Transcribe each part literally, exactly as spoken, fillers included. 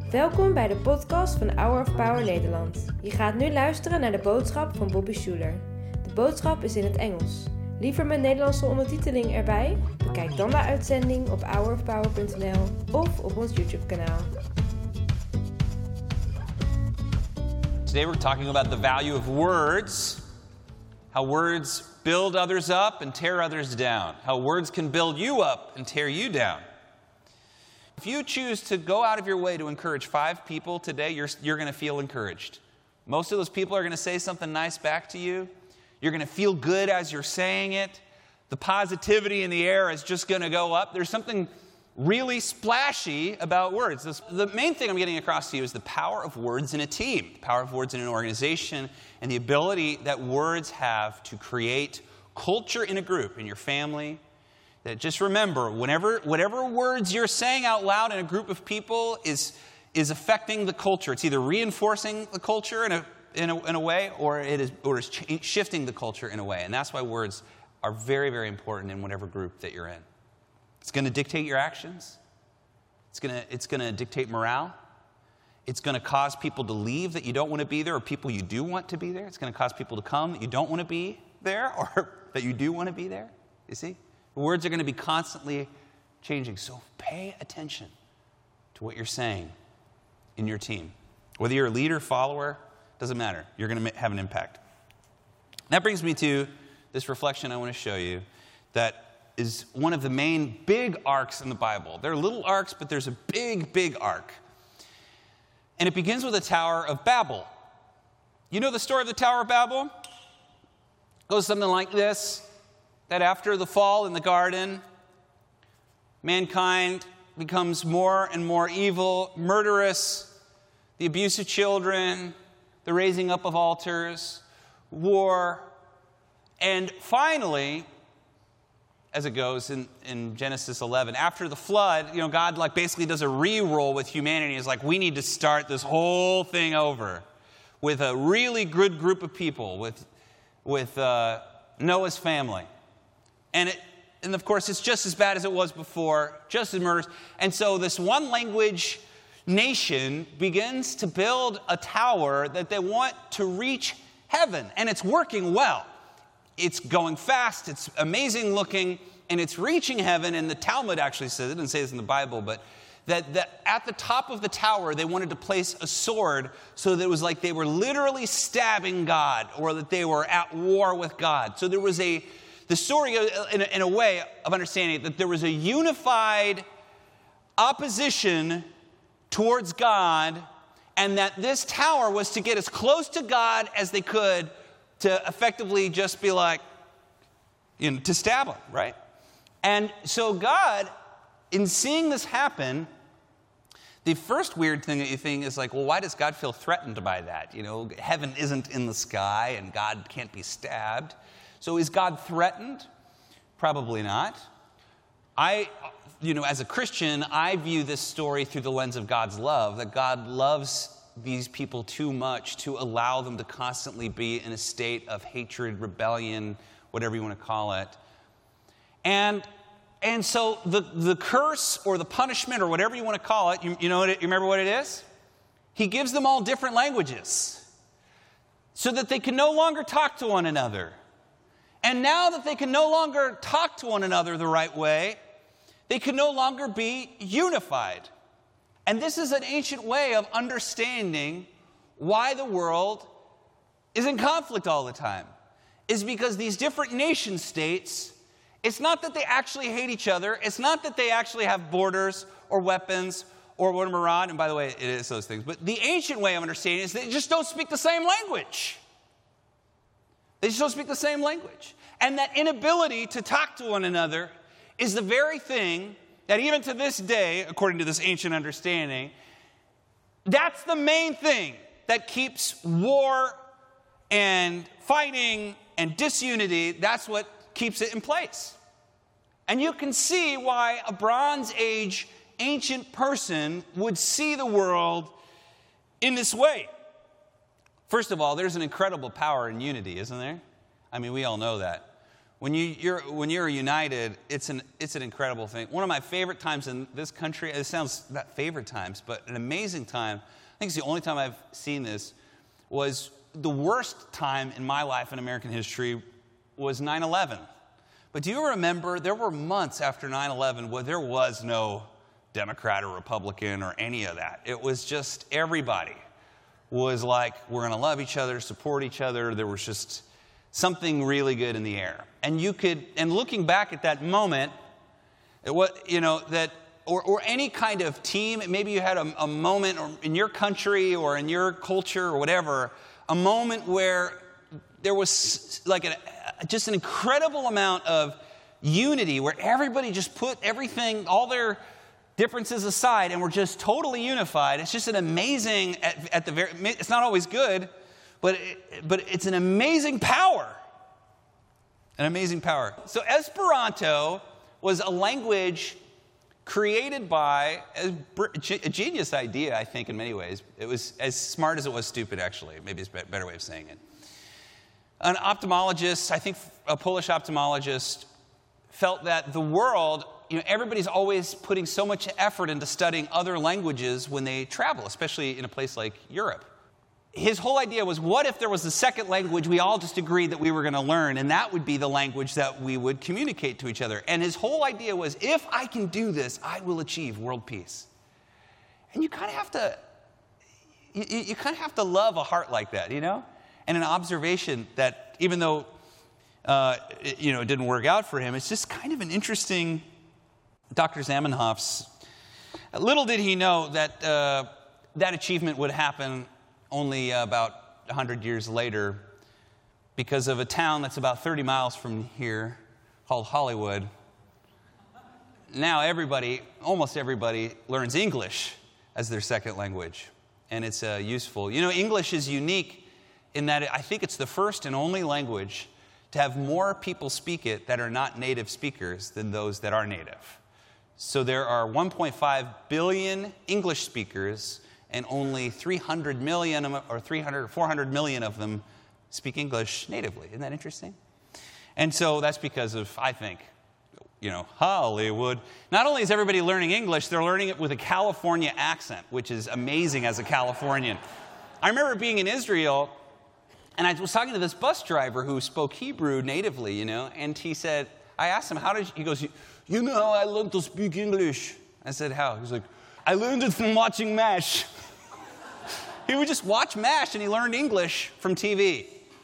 Welkom bij de podcast van Hour of Power Nederland. Je gaat nu luisteren naar de boodschap van Bobby Schuler. De boodschap is in het Engels. Liever met Nederlandse ondertiteling erbij? Bekijk dan de uitzending op hour of power punt n l of op ons YouTube-kanaal. Today we're talking about the value of words, how words build others up and tear others down, how words can build you up and tear you down. If you choose to go out of your way to encourage five people today, you're, you're going to feel encouraged. Most of those people are going to say something nice back to you. You're going to feel good as you're saying it. The positivity in the air is just going to go up. There's something really splashy about words. This, the main thing I'm getting across to you is the power of words in a team, the power of words in an organization, and the ability that words have to create culture in a group, in your family. That just remember, whenever, whatever words you're saying out loud in a group of people is, is affecting the culture. It's either reinforcing the culture in a, in a, in a way, or it is, or is ch- shifting the culture in a way. And that's why words are very, very important in whatever group that you're in. It's going to dictate your actions. It's going to, it's going to dictate morale. It's going to cause people to leave that you don't want to be there, or people you do want to be there. It's going to cause people to come that you don't want to be there, or that you do want to be there. You see? Words are going to be constantly changing. So pay attention to what you're saying in your team. Whether you're a leader, follower, doesn't matter. You're going to have an impact. That brings me to this reflection I want to show you that is one of the main big arcs in the Bible. There are little arcs, but there's a big, big arc. And it begins with the Tower of Babel. You know the story of the Tower of Babel? It goes something like this. That after the fall in the garden, mankind becomes more and more evil, murderous, the abuse of children, the raising up of altars, war, and finally, as it goes in, in Genesis eleven, after the flood, you know, God like basically does a re-roll with humanity. It's like, we need to start this whole thing over with a really good group of people, with, with uh, Noah's family. And, it, and of course, it's just as bad as it was before, just as murderous. And so this one language nation begins to build a tower that they want to reach heaven. And it's working well. It's going fast, it's amazing looking, and it's reaching heaven. And the Talmud actually says, it didn't say this in the Bible, but that, that at the top of the tower, they wanted to place a sword so that it was like they were literally stabbing God, or that they were at war with God. So there was a The story, in a, in a way of understanding that there was a unified opposition towards God, and that this tower was to get as close to God as they could to effectively just be like, you know, to stab him, right? And so God, in seeing this happen, the first weird thing that you think is like, well, why does God feel threatened by that? You know, heaven isn't in the sky, and God can't be stabbed. So is God threatened? Probably not. I, you know, as a Christian, I view this story through the lens of God's love, that God loves these people too much to allow them to constantly be in a state of hatred, rebellion, whatever you want to call it. And and so the, the curse or the punishment or whatever you want to call it, you, you know, you remember what it is? He gives them all different languages so that they can no longer talk to one another. And now that they can no longer talk to one another the right way, they can no longer be unified. And this is an ancient way of understanding why the world is in conflict all the time. Is because these different nation states, it's not that they actually hate each other. It's not that they actually have borders or weapons or want to maraud. And by the way, it is those things. But the ancient way of understanding is they just don't speak the same language. They just don't speak the same language. And that inability to talk to one another is the very thing that even to this day, according to this ancient understanding, that's the main thing that keeps war and fighting and disunity, that's what keeps it in place. And you can see why a Bronze Age ancient person would see the world in this way. First of all, there's an incredible power in unity, isn't there? I mean, we all know that. When, you, you're, when you're united, it's an, it's an incredible thing. One of my favorite times in this country, it sounds not favorite times, but an amazing time, I think it's the only time I've seen this, was the worst time in my life in American history was nine eleven. But do you remember, there were months after nine eleven where there was no Democrat or Republican or any of that. It was just everybody was like, we're going to love each other, support each other. There was just something really good in the air. And you could, and looking back at that moment, it was, you know, that, or, or any kind of team, maybe you had a, a moment or in your country or in your culture or whatever, a moment where there was like a, just an incredible amount of unity, where everybody just put everything, all their differences aside, and were just totally unified. It's just an amazing, at, at the very, it's not always good, but it, but it's an amazing power. An amazing power. So Esperanto was a language created by a, a genius idea, I think, in many ways. It was as smart as it was stupid, actually. Maybe it's a better way of saying it. An ophthalmologist, I think a Polish ophthalmologist, felt that the world, you know, everybody's always putting so much effort into studying other languages when they travel, especially in a place like Europe. His whole idea was, what if there was a second language we all just agreed that we were going to learn, and that would be the language that we would communicate to each other. And his whole idea was, if I can do this, I will achieve world peace. And you kind of have to, you, you kind of have to love a heart like that, you know? And an observation that even though, uh, it, you know, it didn't work out for him, it's just kind of an interesting, Doctor Zamenhof's, little did he know that uh, that achievement would happen only about one hundred years later, because of a town that's about thirty miles from here called Hollywood. Now everybody, almost everybody, learns English as their second language, and it's uh, useful. You know, English is unique in that I think it's the first and only language to have more people speak it that are not native speakers than those that are native. So there are one point five billion English speakers, and only three hundred million or three hundred or four hundred million of them speak English natively. Isn't that interesting? And so that's because of, I think, you know, Hollywood. Not only is everybody learning English, they're learning it with a California accent, which is amazing as a Californian. I remember being in Israel, and I was talking to this bus driver who spoke Hebrew natively, you know, and he said, I asked him, how did you, he goes, you know how I learned to speak English? I said, how? He was like, I learned it from watching MASH. He would just watch MASH and he learned English from T V.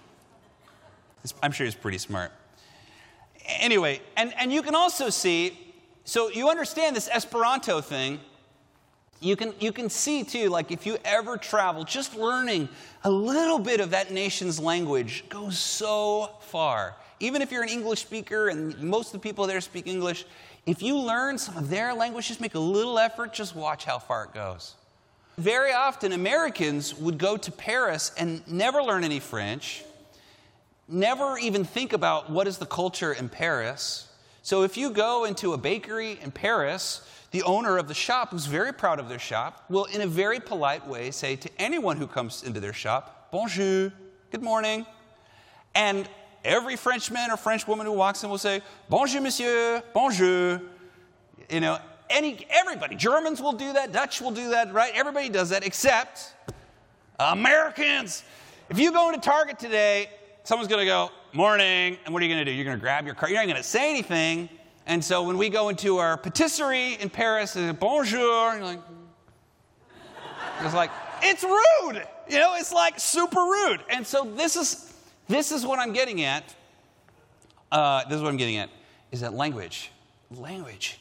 I'm sure he's pretty smart. Anyway, and, and you can also see, so you understand this Esperanto thing. You can, you can see too, like if you ever travel, just learning a little bit of that nation's language goes so far. Even if you're an English speaker and most of the people there speak English, if you learn some of their language, just make a little effort, just watch how far it goes. Very often, Americans would go to Paris and never learn any French, never even think about what is the culture in Paris. So if you go into a bakery in Paris, the owner of the shop, who's very proud of their shop, will in a very polite way say to anyone who comes into their shop, bonjour, good morning. And every Frenchman or French woman who walks in will say, bonjour, monsieur, bonjour. You know, any, everybody, Germans will do that, Dutch will do that, right? Everybody does that, except Americans. If you go into Target today, someone's going to go, morning, and what are you going to do? You're going to grab your card. You're not going to say anything. And so when we go into our patisserie in Paris, and bonjour, and you're like, it's like, it's rude. You know, it's like super rude. And so this is, this is what I'm getting at. Uh, this is what I'm getting at, is that language, language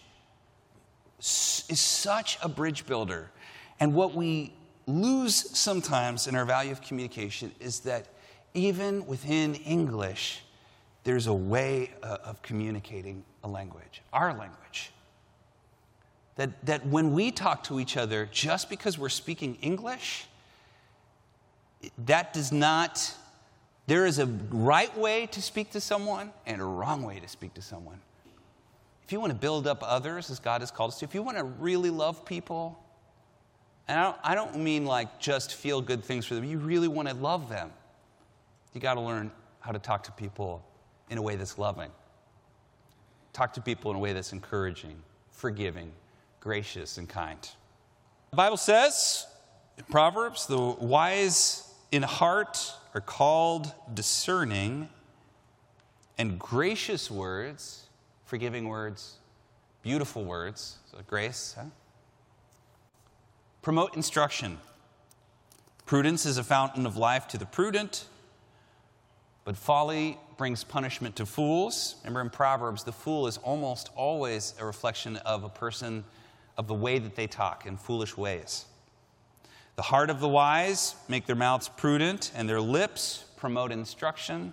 is such a bridge builder. And what we lose sometimes in our value of communication is that even within English, there's a way uh, of communicating a language, our language. That, that when we talk to each other, just because we're speaking English, that does not, there is a right way to speak to someone and a wrong way to speak to someone. If you want to build up others as God has called us to, if you want to really love people, and I don't, I don't mean like just feel good things for them, you really want to love them, you got to learn how to talk to people in a way that's loving. Talk to people in a way that's encouraging, forgiving, gracious, and kind. The Bible says in Proverbs, the wise in heart are called discerning, and gracious words, forgiving words, beautiful words, so grace, huh? Promote instruction. Prudence is a fountain of life to the prudent, but folly brings punishment to fools. Remember in Proverbs, the fool is almost always a reflection of a person, of the way that they talk in foolish ways. The heart of the wise make their mouths prudent, and their lips promote instruction.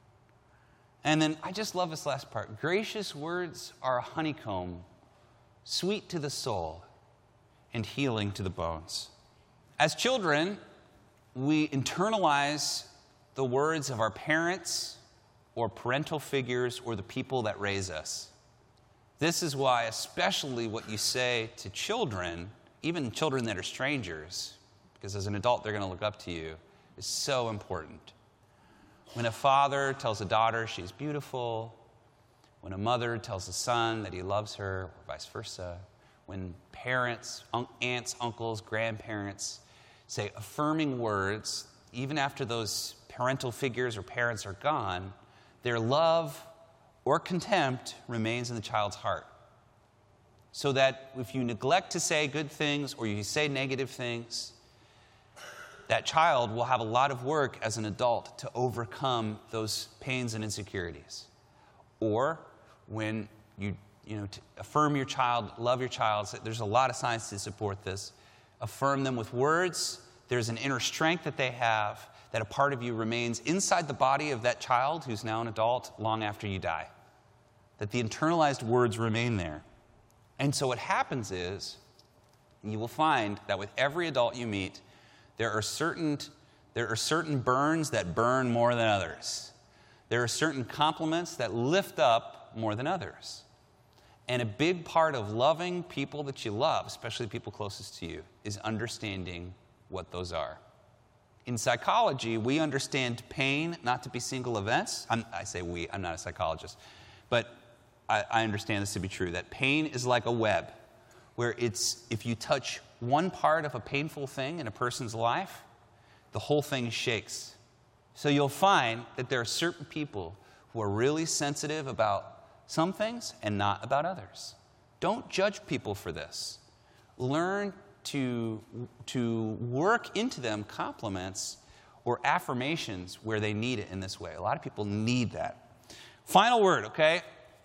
And then I just love this last part. Gracious words are a honeycomb, sweet to the soul and healing to the bones. As children, we internalize the words of our parents or parental figures or the people that raise us. This is why, especially what you say to children, even children that are strangers, because as an adult they're going to look up to you, is so important. When a father tells a daughter she's beautiful, when a mother tells a son that he loves her, or vice versa, when parents, un- aunts, uncles, grandparents say affirming words, even after those parental figures or parents are gone, their love or contempt remains in the child's heart. So that if you neglect to say good things or you say negative things, that child will have a lot of work as an adult to overcome those pains and insecurities. Or when you, you know, to affirm your child, love your child, there's a lot of science to support this. Affirm them with words. There's an inner strength that they have, that a part of you remains inside the body of that child who's now an adult long after you die. That the internalized words remain there. And so what happens is, you will find that with every adult you meet, there are certain, there are certain burns that burn more than others. There are certain compliments that lift up more than others. And a big part of loving people that you love, especially the people closest to you, is understanding what those are. In psychology, we understand pain not to be single events. I'm, I say we, I'm not a psychologist. But I, I understand this to be true, that pain is like a web, where it's, if you touch one part of a painful thing in a person's life, the whole thing shakes. So you'll find that there are certain people who are really sensitive about some things and not about others. Don't judge people for this. Learn to, to work into them compliments or affirmations where they need it in this way. A lot of people need that. Final word, okay?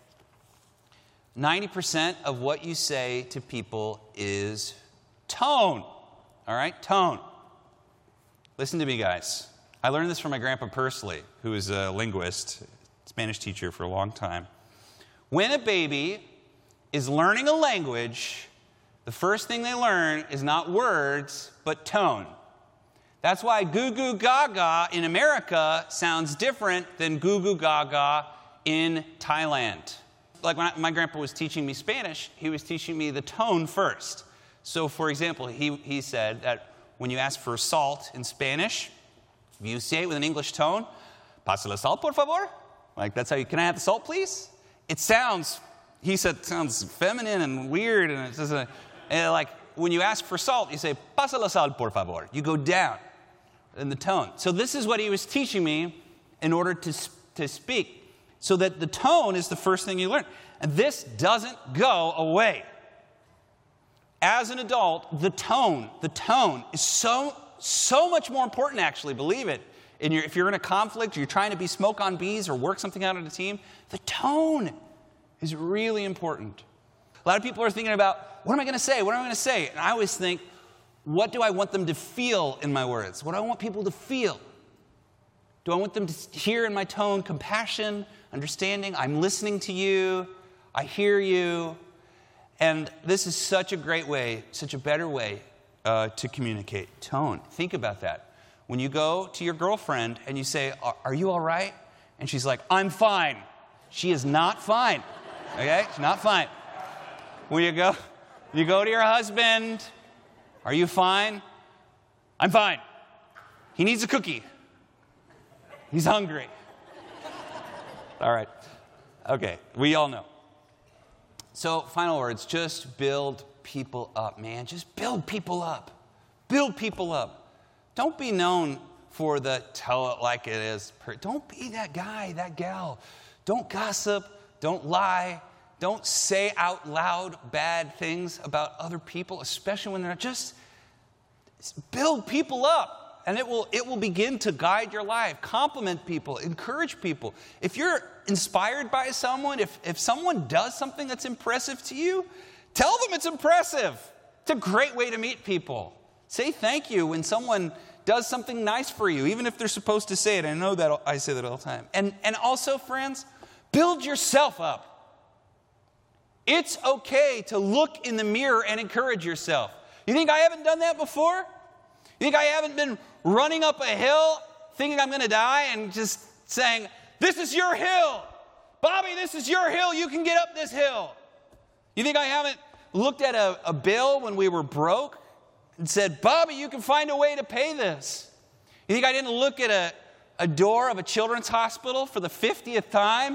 ninety percent of what you say to people is tone. All right? Tone. Listen to me, guys. I learned this from my grandpa Pursley, who is a linguist, Spanish teacher for a long time. When a baby is learning a language, the first thing they learn is not words, but tone. That's why goo goo gaga in America sounds different than goo goo gaga in Thailand. Like when I, my grandpa was teaching me Spanish, he was teaching me the tone first. So, for example, he, he said that when you ask for salt in Spanish, if you say it with an English tone, pasa la sal, por favor. Like, that's how you, can I have the salt, please? It sounds, he said, it sounds feminine and weird. And it's just a, and like, when you ask for salt, you say, pasa la sal, por favor. You go down in the tone. So this is what he was teaching me in order to, to speak. So that the tone is the first thing you learn. And this doesn't go away. As an adult, the tone, the tone is so, so much more important, actually, believe it. In your, if you're in a conflict, or you're trying to be smoke on bees or work something out in a team, the tone is really important. A lot of people are thinking about, what am I going to say? What am I going to say? And I always think, what do I want them to feel in my words? What do I want people to feel? Do I want them to hear in my tone compassion, understanding? I'm listening to you. I hear you. And this is such a great way, such a better way uh, to communicate. Tone. Think about that. When you go to your girlfriend and you say, are you all right? And she's like, I'm fine. She is not fine. Okay? She's not fine. When you go, you go to your husband, are you fine? I'm fine. He needs a cookie. He's hungry. All right. Okay. We all know. So, final words, just build people up, man. Just build people up. Build people up. Don't be known for the tell it like it is. Don't be that guy, that gal. Don't gossip. Don't lie. Don't say out loud bad things about other people, especially when they're not. Just build people up, and it will, it will begin to guide your life. Compliment people. Encourage people. If you're inspired by someone, if, if someone does something that's impressive to you, tell them it's impressive. It's a great way to meet people. Say thank you when someone does something nice for you, even if they're supposed to say it. I know that I say that all the time. And, and also, friends, build yourself up. It's okay to look in the mirror and encourage yourself. You think I haven't done that before? You think I haven't been running up a hill thinking I'm going to die and just saying, this is your hill. Bobby, this is your hill. You can get up this hill. You think I haven't looked at a, a bill when we were broke and said, Bobby, you can find a way to pay this? You think I didn't look at a, a door of a children's hospital for the fiftieth time?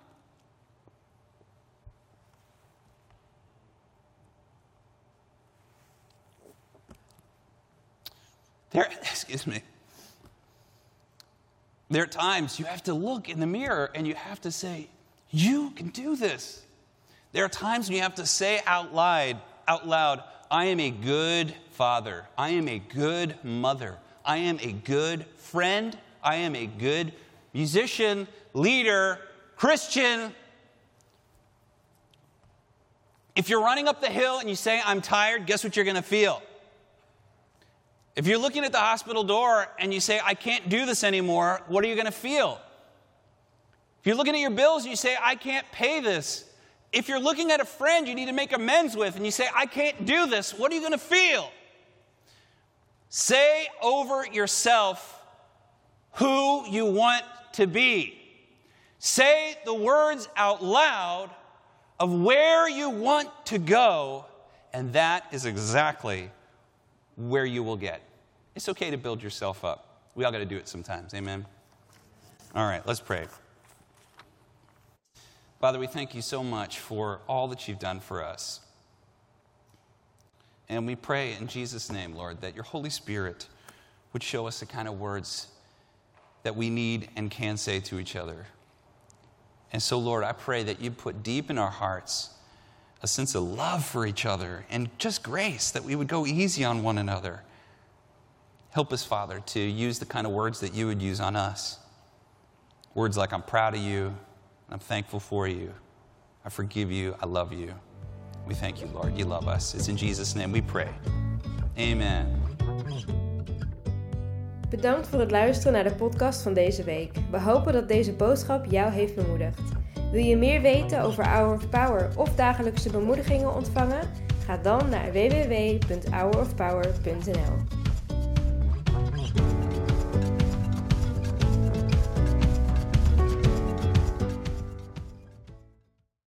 There, excuse me. There are times you have to look in the mirror and you have to say, you can do this. There are times when you have to say out loud, out loud, I am a good father. I am a good mother. I am a good friend. I am a good musician, leader, Christian. If you're running up the hill and you say, I'm tired, guess what you're going to feel? If you're looking at the hospital door and you say, I can't do this anymore, what are you going to feel? If you're looking at your bills and you say, I can't pay this. If you're looking at a friend you need to make amends with and you say, I can't do this, what are you going to feel? Say over yourself who you want to be. Say the words out loud of where you want to go, and that is exactly where you will get. It's okay to build yourself up. We all got to do it sometimes. Amen? All right, let's pray. Father, we thank you so much for all that you've done for us. And we pray in Jesus' name, Lord, that your Holy Spirit would show us the kind of words that we need and can say to each other. And so, Lord, I pray that you put deep in our hearts a sense of love for each other and just grace, that we would go easy on one another. Help us, Father, to use the kind of words that you would use on us. Words like, I'm proud of you, I'm thankful for you, I forgive you, I love you. We thank you, Lord. You love us. It's in Jesus' name we pray. Amen. Bedankt voor het luisteren naar de podcast van deze week. We hopen dat deze boodschap jou heeft bemoedigd. Wil je meer weten over Hour of Power of dagelijkse bemoedigingen ontvangen? Ga dan naar w w w punt hour of power punt n l.